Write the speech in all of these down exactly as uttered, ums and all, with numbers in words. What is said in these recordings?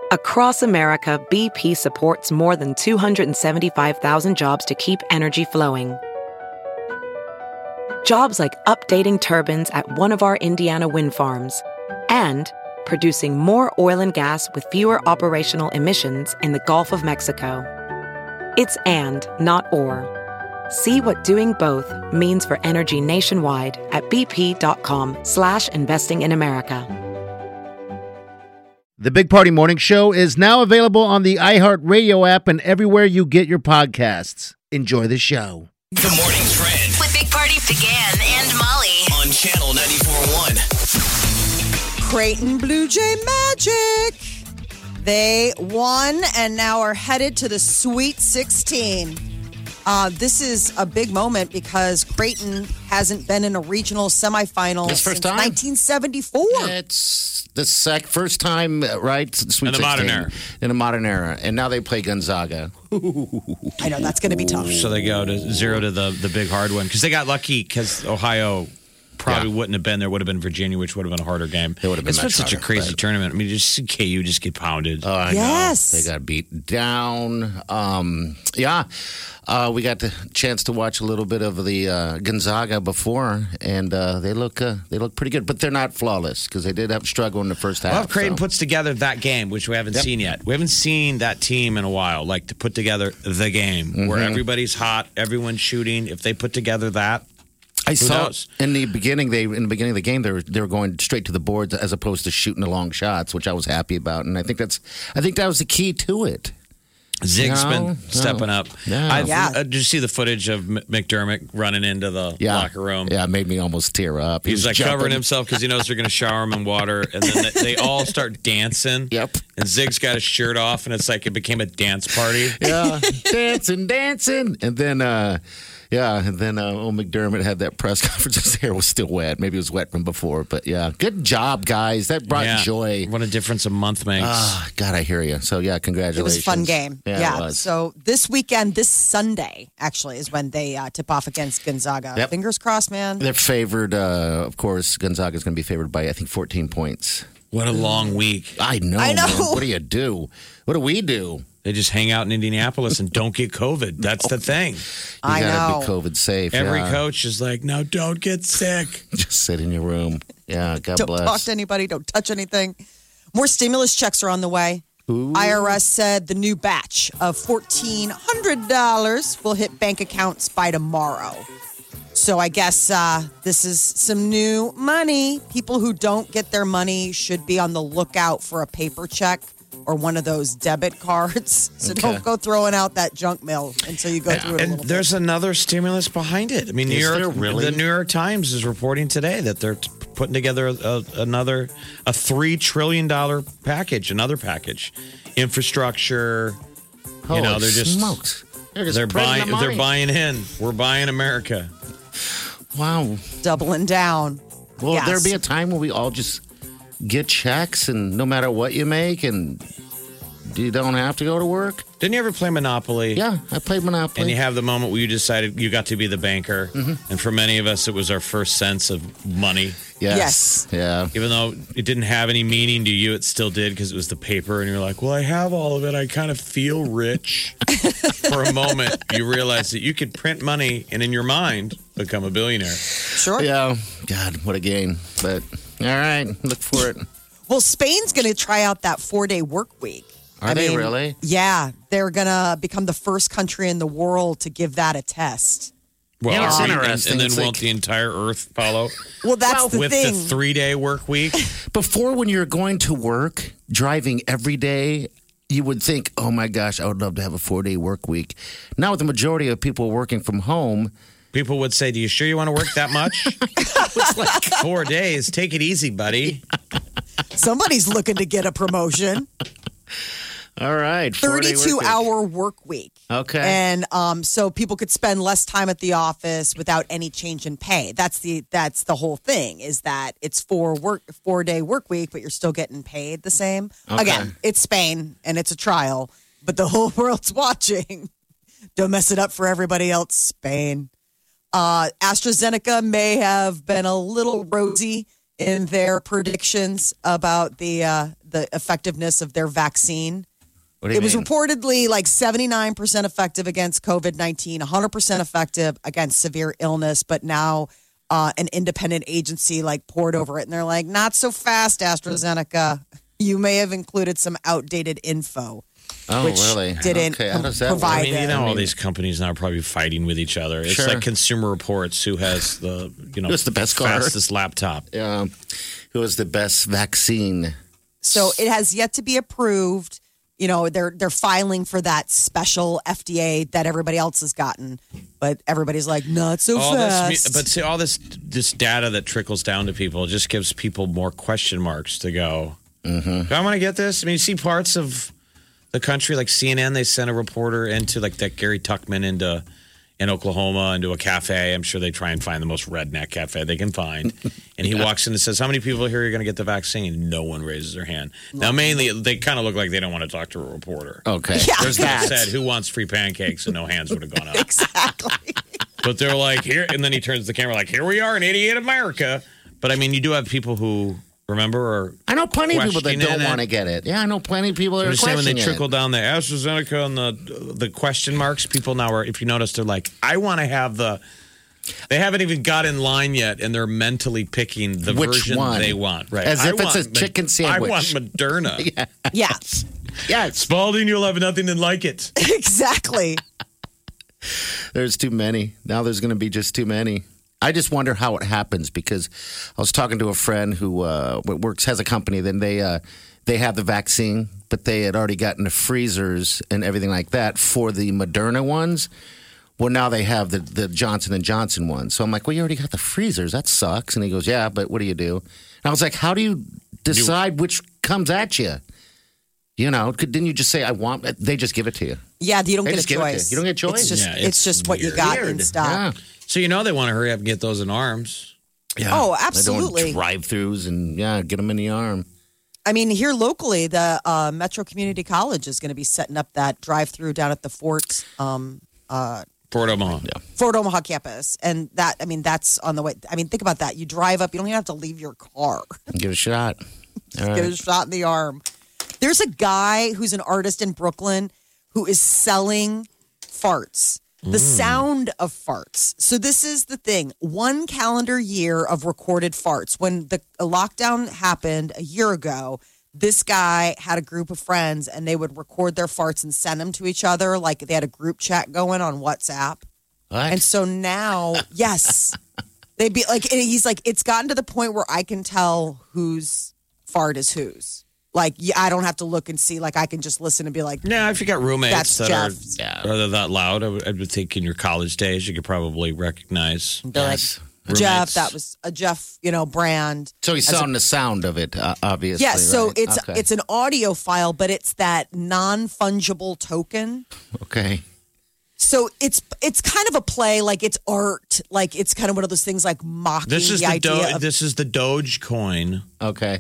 Across America, B P supports more than two hundred seventy-five thousand jobs to keep energy flowing. Jobs like updating turbines at one of our Indiana wind farms and producing more oil and gas with fewer operational emissions in the Gulf of Mexico. It's and, not or. See what doing both means for energy nationwide at bp.com slash investing in America. The Big Party Morning Show is now available on the iHeartRadio app and everywhere you get your podcasts. Enjoy the show. The Morning Trend with Big Party began and Molly on Channel ninety-four point one. Creighton Blue Jay Magic. They won and now are headed to the Sweet sixteen. Uh, this is a big moment because Creighton hasn't been in a regional semifinal This first since time? nineteen seventy-four. It's the sec- first time, uh, right? Sweet In the modern sixteen. era. In the modern era. And now they play Gonzaga. I know, that's going to be tough. So they go to zero to the, the big hard one because they got lucky because Ohio probably Yeah. wouldn't have been there. Would have been Virginia, which would have been a harder game. It would have been It's been much such a harder, crazy but- tournament. I mean, just K U just get pounded. Oh, I Yes. know. They got beat down. Um, yeah. Uh, we got the chance to watch a little bit of the uh, Gonzaga before, and uh, they look uh, they look pretty good, but they're not flawless because they did have struggle in the first half. Well, if Creighton so. puts together that game, which we haven't Yep. seen yet. We haven't seen that team in a while, like to put together the game where everybody's hot, everyone's shooting. If they put together that, I Who saw knows? in the beginning. They in the beginning of the game, they were they were going straight to the boards as opposed to shooting the long shots, which I was happy about, and I think that's I think that was the key to it. Zig's No, been no. stepping up. No. I, Yeah. uh, did you see the footage of M- McDermott running into the Yeah, locker room? Yeah, it made me almost tear up. He He's was like jumping. covering himself because he knows they're going to shower him in water, and then they, they all start dancing. Yep. And Zig's got his shirt off, and it's like it became a dance party. Yeah, dancing, dancing, and then. uh Yeah, and then uh, old McDermott had that press conference. His hair was still wet. Maybe it was wet from before, but yeah, good job, guys. That brought Yeah. joy. What a difference a month makes. Ah, God, I hear you. So yeah, It congratulations. was a fun game. Yeah, it was. So this weekend, this Sunday, actually, is when they uh, tip off against Gonzaga. Yep. Fingers crossed, man. They're favored. Uh, of course, Gonzaga is going to be favored by I think fourteen points. what a long week. I know. I know. Man. What do you do? What do we do? They just hang out in Indianapolis and don't get COVID. That's the thing. You I gotta know. be COVID safe. Every yeah. coach is like, no, don't get sick. Just sit in your room. Yeah, God Don't bless. talk to anybody. Don't touch anything. More stimulus checks are on the way. I R S said the new batch of fourteen hundred dollars will hit bank accounts by tomorrow. So I guess uh, this is some new money. People who don't get their money should be on the lookout for a paper check or one of those debit cards. So Okay. don't go throwing out that junk mail until you go through it a And little there's another stimulus behind it. I mean, New Is York, there really? the New York Times is reporting today that they're t- putting together a, another a three trillion dollar package, another package, infrastructure. Holy you know, they're just smokes. They're just they're printing buying the they're money. buying in. We're buying America. Wow. bit, doubling down. Will Yes. there be a time where we all just get checks and no matter what you make and you don't have to go to work? Didn't you ever play Monopoly? Yeah, I played Monopoly. And you have the moment where you decided you got to be the banker. And for many of us, it was our first sense of money. yes. Yes. Yeah. Even though it didn't have any meaning to you, it still did because it was the paper. And you're like, well, I have all of it. I kind of feel rich. For a moment, you realize that you could print money and in your mind become a billionaire. Sure. Yeah. God, what a game. But all right, look for it. Well, Spain's going to try out that four-day work week. Are they really? Yeah, they're going to become the first country in the world to give that a test. Well, Yeah, it's and- interesting. And, then It's won't like- the entire Earth follow Well, that's the with thing. the three-day work week? Before, when you're going to work, driving every day, you would think, oh my gosh, I would love to have a four day work week. Now, with the majority of people working from home, People would say, do you sure you want to work that much? It's like four days. Take it easy, buddy. Somebody's looking to get a promotion. all right, four-day work thirty-two week. hour work week. Okay. And um, so people could spend less time at the office without any change in pay. That's the that's the whole thing, is that it's four work four day work week, but you're still getting paid the same. Okay. Again, it's Spain and it's a trial, but the whole world's watching. Don't mess it up for everybody else, Spain. Uh, AstraZeneca may have been a little rosy in their predictions about the uh, the effectiveness of their vaccine. What do you It was mean? reportedly like seventy-nine percent effective against COVID nineteen, one hundred percent effective against severe illness, but now uh, an independent agency like poured over it, and they're like, not so fast, AstraZeneca. You may have included some outdated info. Oh, which really? didn't Okay, how does that work? provide I mean, you it. know, all these companies now are probably fighting with each other. It's Sure. like Consumer Reports, who has the you know Who's the best car? fastest laptop. Um, who has the best vaccine? So it has yet to be approved. You know, they're they're filing for that special F D A that everybody else has gotten, but everybody's like, not so All fast. this, but see, all this this data that trickles down to people just gives people more question marks to go. Mm-hmm. Do I want to get this? I mean, you see parts of the country like C N N. They sent a reporter into like that Gary Tuckman into in Oklahoma into a cafe. I'm sure they try and find the most redneck cafe they can find. And he yeah. walks in and says, "How many people here are going to get the vaccine?" No one raises their hand. Now, mainly they kind of look like they don't want to talk to a reporter. Okay, Yeah. there's that. Said, "Who wants free pancakes?" And no hands would have gone up. Exactly. But they're like, here, and then he turns to the camera like, here we are in eighty-eight America. But I mean, you do have people who remember or I know plenty of people that questioning don't it. want to get it. Yeah, I know plenty of people that I'm are just saying when they questioning trickle it. down the AstraZeneca and the the question marks, people now are, if you notice, they're like, I want to have the. They haven't even got in line yet, and they're mentally picking the Which version one? they want. Right, As I if it's want a chicken Ma- sandwich. I want Moderna. Yeah. Yes, Yes, Spalding, you'll have nothing like it. exactly. there's too many. Now there's going to be just too many. I just wonder how it happens because I was talking to a friend who uh, works has a company. Then they uh, they have the vaccine, but they had already gotten the freezers and everything like that for the Moderna ones. Well, now they have the, the Johnson and Johnson ones. So I'm like, well, you already got the freezers. That sucks. And he goes, yeah, but what do you do? And I was like, how do you decide which comes at you? You know, could, didn't you just say, I want, they just give it to you. Yeah, you don't They get just a give it to you. choice. You don't get a choice? It's just, Yeah, it's, it's just what you weird. got Weird. in stock. Yeah. So you know they want to hurry up and get those in arms. Yeah. Oh, They're absolutely. doing drive-throughs and, yeah, get them in the arm. I mean, here locally, the uh, Metro Community College is going to be setting up that drive-through down at the Fort um, uh, Fort Omaha. Yeah. Fort Omaha campus, and that I mean, that's on the way. I mean, think about that. You drive up, you don't even have to leave your car. Give it a shot. All Get right. a shot in the arm. There's a guy who's an artist in Brooklyn who is selling farts. The sound of farts. So this is the thing. One calendar year of recorded farts. When the lockdown happened a year ago, this guy had a group of friends and they would record their farts and send them to each other. Like they had a group chat going on WhatsApp. What? And so now, yes, they'd be like, and he's like, it's gotten to the point where I can tell whose fart is whose. Like, yeah, I don't have to look and see. Like, I can just listen and be like, Yeah, if you got roommates That's that are, Jeff's. Yeah. are that loud, I would, I would think in your college days you could probably recognize. they're Yes. like, Jeff, Roommates. that was a Jeff, you know, brand. So he's As a- selling the sound of it, uh, obviously. Yeah, so right? it's okay. it's an audio file, but it's that non-fungible token. Okay. So it's it's kind of a play, like it's art, like it's kind of one of those things like mocking This is the, the, idea Do- of this is the Doge coin Okay.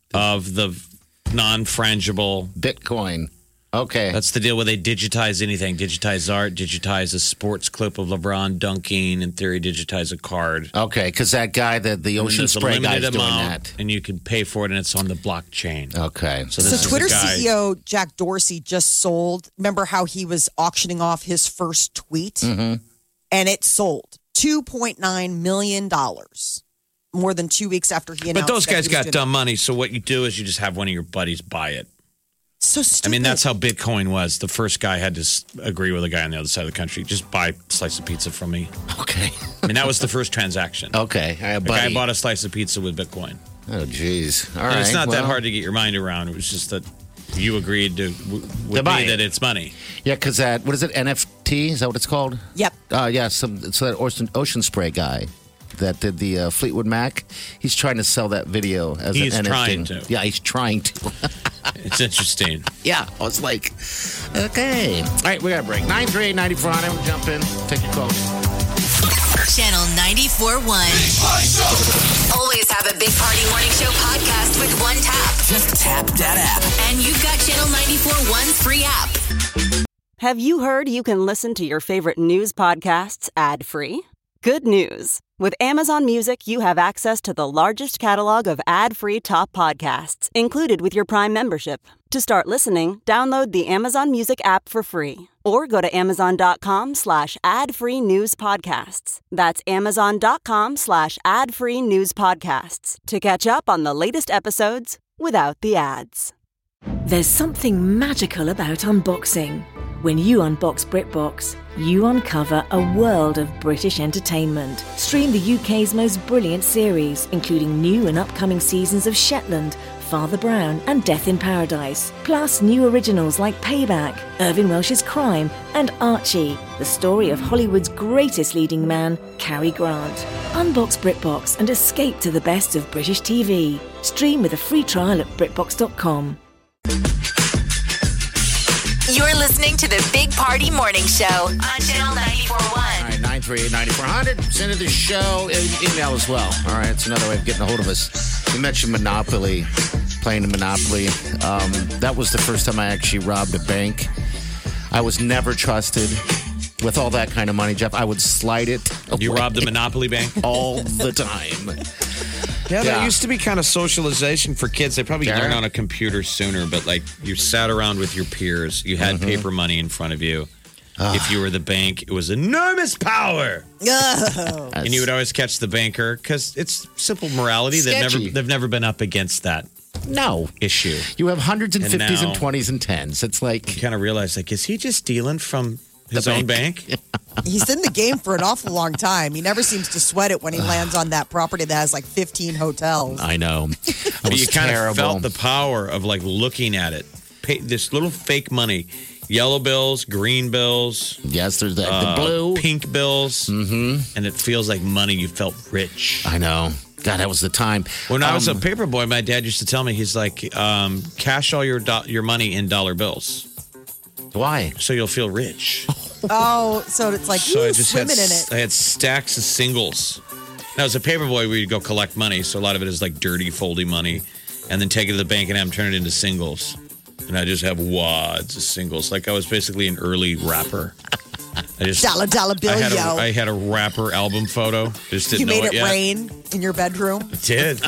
of the non-frangible. Bitcoin. Okay. That's the deal where they digitize anything. Digitize art, digitize a sports clip of LeBron dunking, in theory, digitize a card. okay, because that guy, the, the And ocean there's a spray guy, is limited doing amount, that. and you can pay for it, and it's on the blockchain. Okay. So So this is Twitter a guy- C E O Jack Dorsey just sold. Remember how he was auctioning off his first tweet, Mm-hmm. and it sold two point nine million dollars, more than two weeks after he announced. But those that guys he was got doing- dumb money, so what you do is you just have one of your buddies buy it. So stupid. I mean, that's how Bitcoin was. The first guy had to s- agree with a guy on the other side of the country. Just buy a slice of pizza from me. Okay. I mean, that was the first transaction. Okay. All right, The guy buddy. bought a slice of pizza with Bitcoin. Oh, jeez. All And right. it's not that well, hard to get your mind around. It was just that you agreed to w- with To buy me it. that it's money. Yeah, because that, what is it, N F T? Is that what it's called? Yep. Uh, yeah, some, so that ocean, ocean spray guy that did the uh, Fleetwood Mac, he's trying to sell that video as He's an N F T. trying to. Yeah, he's trying to. It's interesting. Yeah, I was like, okay. All right, we got a break. nine three eight, nine four hundred. We'll jump in. Take your call. Channel ninety-four point one. Always have a Big Party Morning Show podcast with one tap. Just tap that app. And you've got Channel ninety-four point one's free app. Have you heard you can listen to your favorite news podcasts ad-free? Good news. With Amazon Music, you have access to the largest catalog of ad-free top podcasts included with your Prime membership. To start listening, download the Amazon Music app for free or go to amazon.com slash ad-free news podcasts. That's amazon.com slash ad-free news podcasts to catch up on the latest episodes without the ads. There's something magical about unboxing. When you unbox BritBox, you uncover a world of British entertainment. Stream the U K's most brilliant series, including new and upcoming seasons of Shetland, Father Brown, and Death in Paradise. Plus new originals like Payback, Irving Welsh's Crime, and Archie, the story of Hollywood's greatest leading man, Cary Grant. Unbox BritBox and escape to the best of British T V. Stream with a free trial at britbox dot com. You're listening to the Big Party Morning Show on Channel ninety-four point one. All right, nine three eight, nine four zero zero. Send it to the show. E- email as well. All right, it's another way of getting a hold of us. You mentioned Monopoly, playing Monopoly. Um, that was the first time I actually robbed a bank. I was never trusted with all that kind of money, Jeff. I would slide it away. You robbed the Monopoly bank? All the time. Yeah, that Yeah. used to be kind of socialization for kids. They probably Yeah. learn on a computer sooner, but like you sat around with your peers. You had Mm-hmm. paper money in front of you. If you were the bank, it was enormous power. Oh. And you would always catch the banker because it's simple morality. They've never, Sketchy. they've never been up against that No. issue. You have hundreds and And fifties now- and twenties and tens. It's like, You kind of realize, like, is he just stealing from his own bank? He's in the game for an awful long time. He never seems to sweat it when he lands on that property that has like fifteen hotels. I know. It But was you kind terrible. of felt the power of like looking at it. Pay, this little fake money, yellow bills, green bills, Yes, there's that. uh, the blue. pink bills, mm-hmm. and it feels like money. You felt rich. I know. God, that was the time. When I was a Um, paper boy, my dad used to tell me, he's like, um, cash all your do- your money in dollar bills, Why? so you'll feel rich. Oh, so it's like So ooh, I just had, swimming in it. I had stacks of singles. Now, as a paper boy, we'd go collect money, so a lot of it is like dirty, foldy money, and then take it to the bank and have them turn it into singles. And I just have wads of singles. Like I was basically an early rapper. I just Dollar, dollar bill, I had, a, yo. I had a rapper album photo. Just didn't You know made it yet. rain in your bedroom. I did.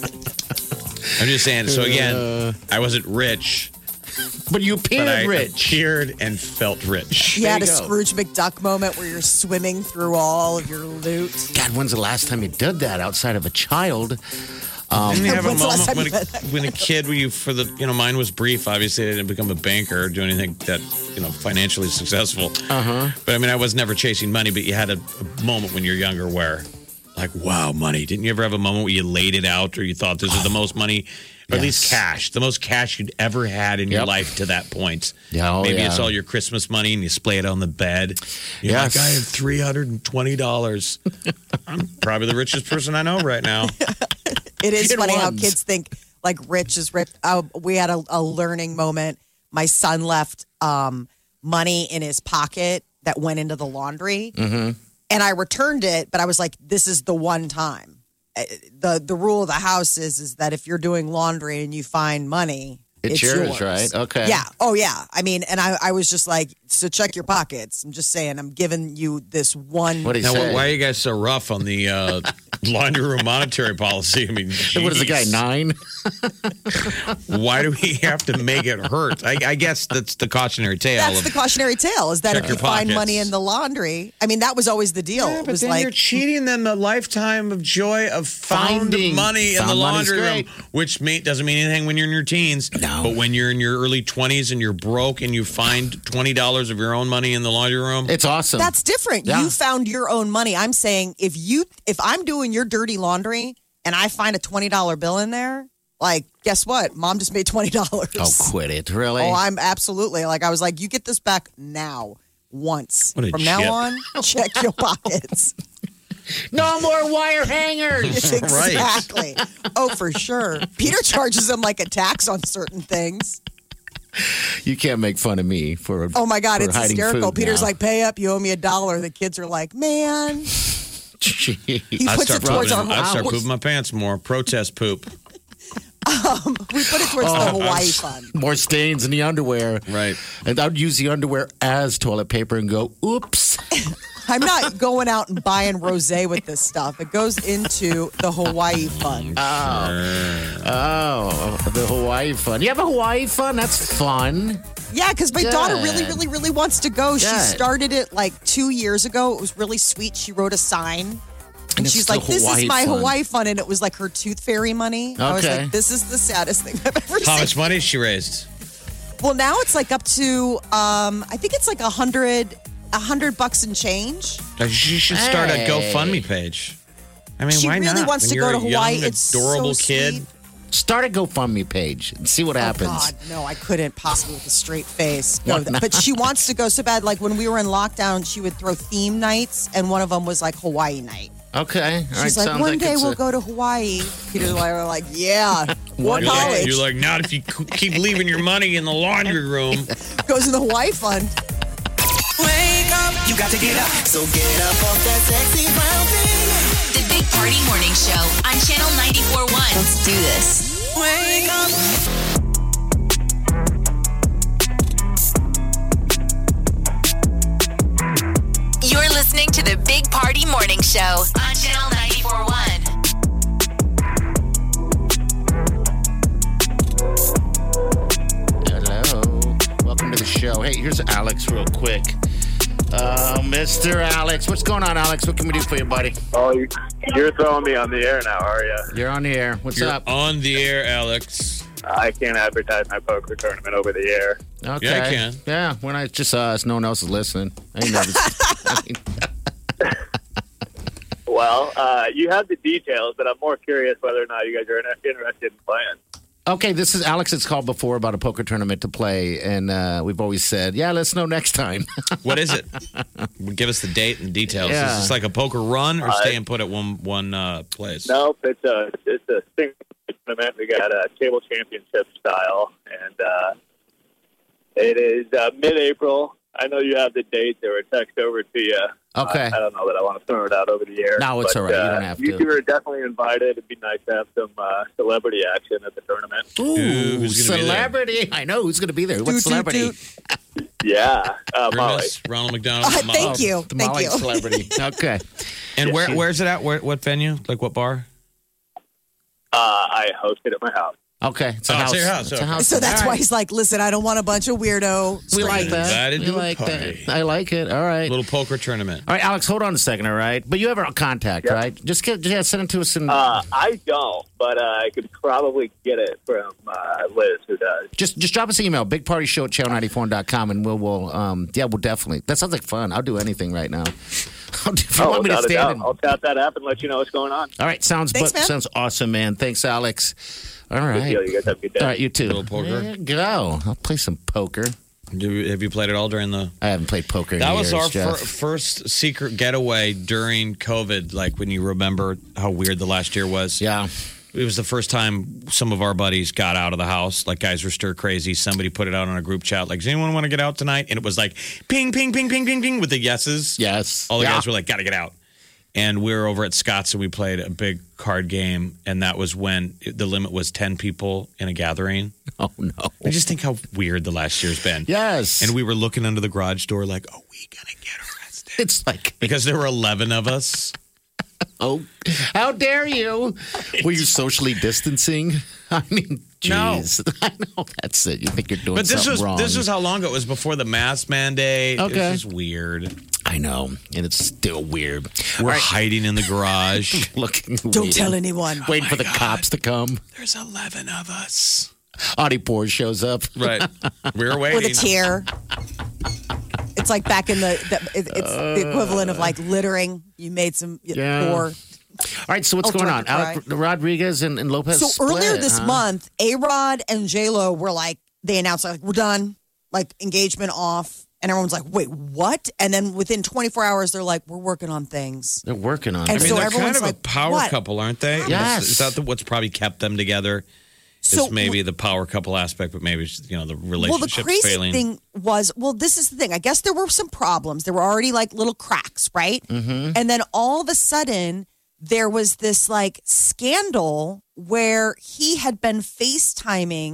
I'm just saying. So again, I wasn't rich, But you but appeared I rich. appeared and felt rich. You had a you go. Scrooge McDuck moment where you're swimming through all of your loot. God, when's the last time you did that outside of a child? Didn't you have a When's the last moment time when you a, when a kid, where you for the you know mine was brief. Obviously, I didn't become a banker or do anything that you know financially successful. Uh huh. But I mean, I was never chasing money. But you had a, a moment when you're younger where, like, wow, money. Didn't you ever have a moment where you laid it out or you thought this is the most money, or at least Yes. cash, the most cash you'd ever had in your Yep. life to that point? Yeah, oh, Maybe yeah. it's all your Christmas money and you splay it on the bed. You're Yes. like, I have three hundred and twenty dollars. I'm probably the richest person I know right now. It is Good funny how ones. kids think like rich is rich. Uh, we had a, a learning moment. My son left um, money in his pocket that went into the laundry, Mm-hmm. and I returned it. But I was like, "This is the one time." Uh, the The rule of the house is is that if you're doing laundry and you find money, It's yours, right? Okay. Yeah. Oh, yeah. I mean, and I, I was just like, so check your pockets. I'm just saying, I'm giving you this one. What do you Now, say? why are you guys so rough on the uh, laundry room monetary policy? I mean, What is the guy, geez. nine? Why do we have to make it hurt? I, I guess that's the cautionary tale. That's of, the cautionary tale is that Check if you your find pockets. money in the laundry, I mean, that was always the deal. Yeah, it but was then like, you're cheating them the lifetime of joy of found Finding- money in the found money's laundry room, great. which mean, doesn't mean anything when you're in your teens. No. But when you're in your early twenties and you're broke and you find twenty dollars of your own money in the laundry room, It's awesome. that's different. Yeah. You found your own money. I'm saying if you, if I'm doing your dirty laundry and I find a twenty dollar bill in there, like, guess what? Mom just made twenty dollars. Oh, quit it. Really? Oh, I'm absolutely like, I was like, you get this back now once. What a From chip. now on, check your pockets. no more wire hangers. Exactly. Oh, for sure. Peter charges them like a tax on certain things. You can't make fun of me for Oh my God, for it's hiding hysterical. food Peter's now. like, pay up, you owe me a dollar. The kids are like, man. Jeez. He I'd puts start, it towards pooping, our I'd start house. pooping my pants more. Protest poop. We put it towards the Hawaii fund. More stains in the underwear. Right. And I'd use the underwear as toilet paper and go, oops. I'm not going out and buying rosé with this stuff. It goes into the Hawaii fund. Oh, oh, the Hawaii fund. You have a Hawaii fund? That's fun. Yeah, because my Good. daughter really, really, really wants to go. She Good. started it like two years ago. It was really sweet. She wrote a sign. And, it's she's the like, this Hawaii is my fund. Hawaii fund. And it was like her tooth fairy money. I was Okay. like, this is the saddest thing I've ever How seen. much money has she raised? Well, now it's like up to, um, I think it's like a hundred, a hundred bucks and change. You should start Hey. a GoFundMe page. I mean, She why really not? wants When to you're go a to Hawaii. young, It's adorable so kid. sweet. Start a GoFundMe page and see what happens. Oh God, no, I couldn't possibly with a straight face. Why No, not? but she wants to go so bad. Like when we were in lockdown, she would throw theme nights, and one of them was like Hawaii night. Okay. All right. She's like, sounds one like day it's we'll a- go to Hawaii. Peter and I were like, yeah, what One You're like, college you're like, not if you c- keep leaving your money in the laundry room. goes in the Hawaii fund. Wake up, you got to get up. So get up off that sexy brown thing. The Big Party Morning Show on Channel ninety-four point one. Let's do this. Wake up. You're listening to the Big Party Morning Show on Channel ninety-four point one. Hello. Welcome to the show. Hey, here's Alex real quick. Uh, Mister Alex. What's going on, Alex? What can we do for you, buddy? Oh, you- you're throwing me on the air now, are you? You're on the air. What's You're up? on the air, Alex. I can't advertise my poker tournament over the air. Okay. Yeah, I can. Yeah, we're not just us. No one else is listening. I ain't never- I mean, Well, uh, you have the details, but I'm more curious whether or not you guys are in- interested in playing. okay, this is Alex. It's called before about a poker tournament to play, and uh, we've always said, yeah, let's know next time. What is it? Give us the date and details. Yeah. Is this like a poker run or Uh, stay and put at one one uh, place? Nope, it's a it's a single tournament. We got a table championship style, and uh, it is uh, mid-April. I know you have the dates. They were text over to you. Okay. Uh, I don't know that I want to throw it out over the air. No, it's but, all right. You uh, don't have You to. two are definitely invited. It'd be nice to have some uh, celebrity action at the tournament. Ooh, who's gonna be there? celebrity. I know who's going to be there. What Doot, doot, celebrity? doot. Yeah, uh, Molly. Ernest, Ronald McDonald. Uh, Molly. thank you. The Thank Molly you. celebrity. Okay. And where where's it at? Where, what venue? Like what bar? Uh, I hosted at my house. Okay. It's a Oh, it's house. your house, It's a okay. house. So that's All why right. he's like, listen, I don't want a bunch of weirdo. We like that. Invited We to a like party. that. I like it. All right. Little poker tournament. All right, Alex, hold on a second, all right? But you have our contact, Yep. right? Just get, yeah, send it to us and Uh, I don't, but uh, I could probably get it from uh, Liz, who does. just just drop us an email, bigpartyshow at channel ninety-four dot com, and we'll, we'll um, yeah, we'll definitely. That sounds like fun. I'll do anything right now. I'll do, if you Oh, want me to without a stand doubt. in. I'll tap that app and let you know what's going on. All right, sounds Thanks, but, man. sounds awesome, man. Thanks, Alex. All Good right. deal. You guys have a good day. All right, you too. Little poker. There you go. I'll play some poker. Do, have you played it all during the? I haven't played poker in That years, was our Jeff. fir- first secret getaway during COVID. Like when you remember how weird the last year was. Yeah. It was the first time some of our buddies got out of the house. Like guys were stir crazy. Somebody put it out on a group chat. Like, does anyone want to get out tonight? And it was like ping, ping, ping, ping, ping, ping with the yeses. Yes. All the Yeah. guys were like, got to get out. And we were over at Scott's and we played a big card game. And that was when it- the limit was ten people in a gathering. Oh, no. I just think how weird the last year's been. Yes. And we were looking under the garage door like, are we going to get arrested? It's like, Because there were eleven of us. oh, how dare you? Were you socially distancing? I mean, No. jeez. I know that's it. You think you're doing But this something was wrong. this was how long ago? It was before the mask mandate. Okay. It was just weird. I know, and it's still weird. We're All right. hiding in the garage. Looking, Don't waiting, tell anyone. waiting Oh for my the God. cops to come. There's eleven of us. Audie Poor shows up. Right. We were waiting. With a tear. It's like back in the, the it, it's the equivalent of like littering. You made some Yeah. poor. All right, so what's Oh, going on? director Alec Rodriguez and, and Lopez. So split, earlier this huh? month, A Rod and J Lo were like, they announced like we're done, like engagement off, and everyone's like, wait, what? And then within twenty-four hours, they're like, we're working on things. They're working on And I it. mean, so they're everyone's kind of like, a power what? couple, aren't they? Yes. Is that the, what's probably kept them together? So is maybe the power couple aspect, but maybe it's, you know the well, the relationship's crazy failing. thing was, well, this is the thing. I guess there were some problems. There were already like little cracks, right? Mm-hmm. And then all of a sudden, there was this like scandal where he had been FaceTiming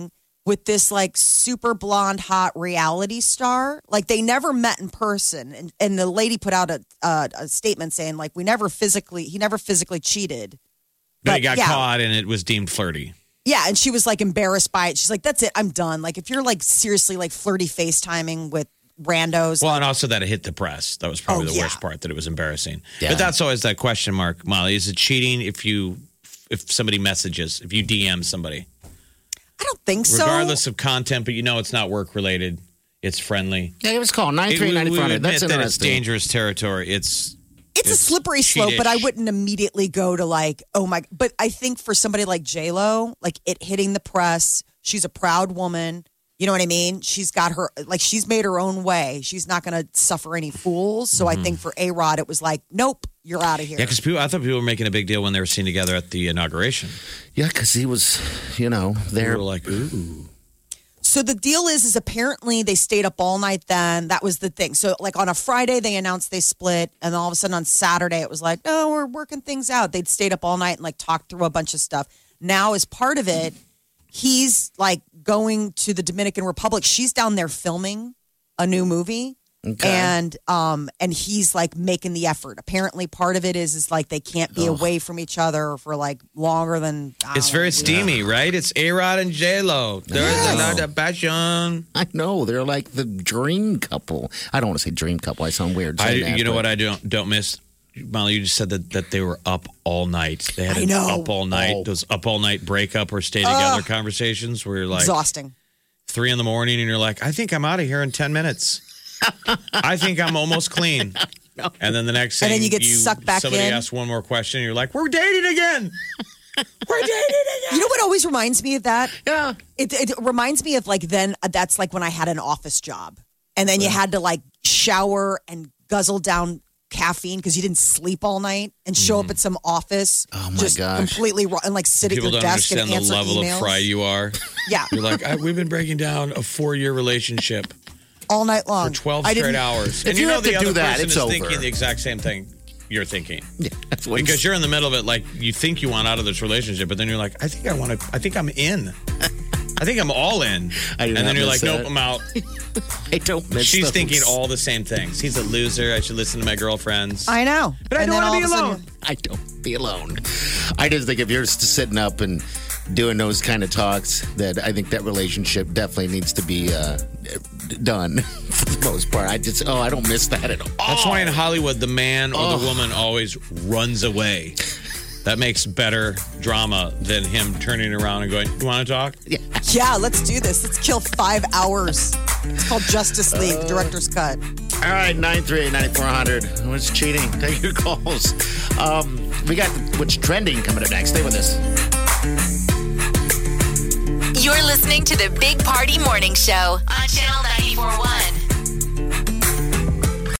with this like super blonde, hot reality star. Like they never met in person. And, and the lady put out a, a, a statement saying like, we never physically, he never physically cheated. But, but he got yeah. caught and it was deemed flirty. Yeah. And she was like embarrassed by it. She's like, that's it. I'm done. Like if you're like seriously like flirty FaceTiming with randos. Well, and also that it hit the press. That was probably Oh, the yeah. worst part, that it was embarrassing. Yeah. But that's always that question mark, Molly. Is it cheating if you if somebody messages, if you D M somebody? I don't think so. Regardless of content, but you know it's not work related. It's friendly. Yeah, it was called nine three nine four hundred. That's that it's interesting. dangerous territory. It's It's, a slippery slope, but I wouldn't immediately go to like, oh my. But I think for somebody like J-Lo, like it hitting the press, she's a proud woman. You know what I mean? She's got her, like she's made her own way. She's not going to suffer any fools. So Mm-hmm. I think for A-Rod, it was like, nope, you're out of here. Yeah, because I thought people were making a big deal when they were seen together at the inauguration. Yeah, because he was, you know, They there. were like, ooh. So the deal is, is apparently they stayed up all night then. That was the thing. So like on a Friday, they announced they split. And then all of a sudden on Saturday, it was like, no, we're working things out. They'd stayed up all night and like talked through a bunch of stuff. Now as part of it, he's like going to the Dominican Republic. She's down there filming a new movie. Okay. And um and he's like making the effort. Apparently part of it is is like they can't be away from each other for like longer than I It's don't very know, steamy, right? It's A-Rod and J-Lo. There's Yes. a lot of passion. I know they're like the dream couple. I don't want to say dream couple. I sound weird. I, saying that, you know but- what I don't don't miss? Molly, you just said that, that they were up all night. They had I an know. up all night. Oh. Those up all night breakup or stay together conversations where you're like exhausting. three in the morning and you're like, I think I'm out of here in ten minutes. I think I'm almost clean. And then the next thing And then you get sucked back somebody in. asks one more question and you're like, we're dating again. We're dating again. You know what always reminds me of that? Yeah. It, it reminds me of like then uh, that's like when I had an office job and then you had to like shower and guzzle down caffeine because you didn't sleep all night and show up at some office Oh, my just gosh. completely raw and like sit People at your don't desk and understand the answer level emails. of fried you are. Yeah, You're like, I, we've been breaking down a four-year relationship all night long for twelve I straight didn't- hours. If And you you know have the to other do that, person it's is over. thinking the exact same thing you're thinking. Yeah, that's what Because you're in the middle of it, like you think you want out of this relationship, but then you're like, I think I want to. I think I'm in. I think I'm all in. I do and not then you're like, miss nope, that. I'm out. I don't miss She's those. thinking all the same things. He's a loser. I should listen to my girlfriends. I know, But I And don't then wanna all be of a sudden- alone. I don't be alone. I just think if you're s- sitting up and doing those kind of talks, that I think that relationship definitely needs to be uh, done for the most part. I just, oh, I don't miss that at all. That's why in Hollywood, the man or the Oh. woman always runs away. That makes better drama than him turning around and going, you want to talk? Yeah. Yeah, let's do this. Let's kill five hours. It's called Justice League, the director's cut. All right, nine three eight, nine four hundred. What's cheating? Take your calls. Um, we got what's trending coming up next. Stay with us. You're listening to the Big Party Morning Show on Channel ninety-four point one.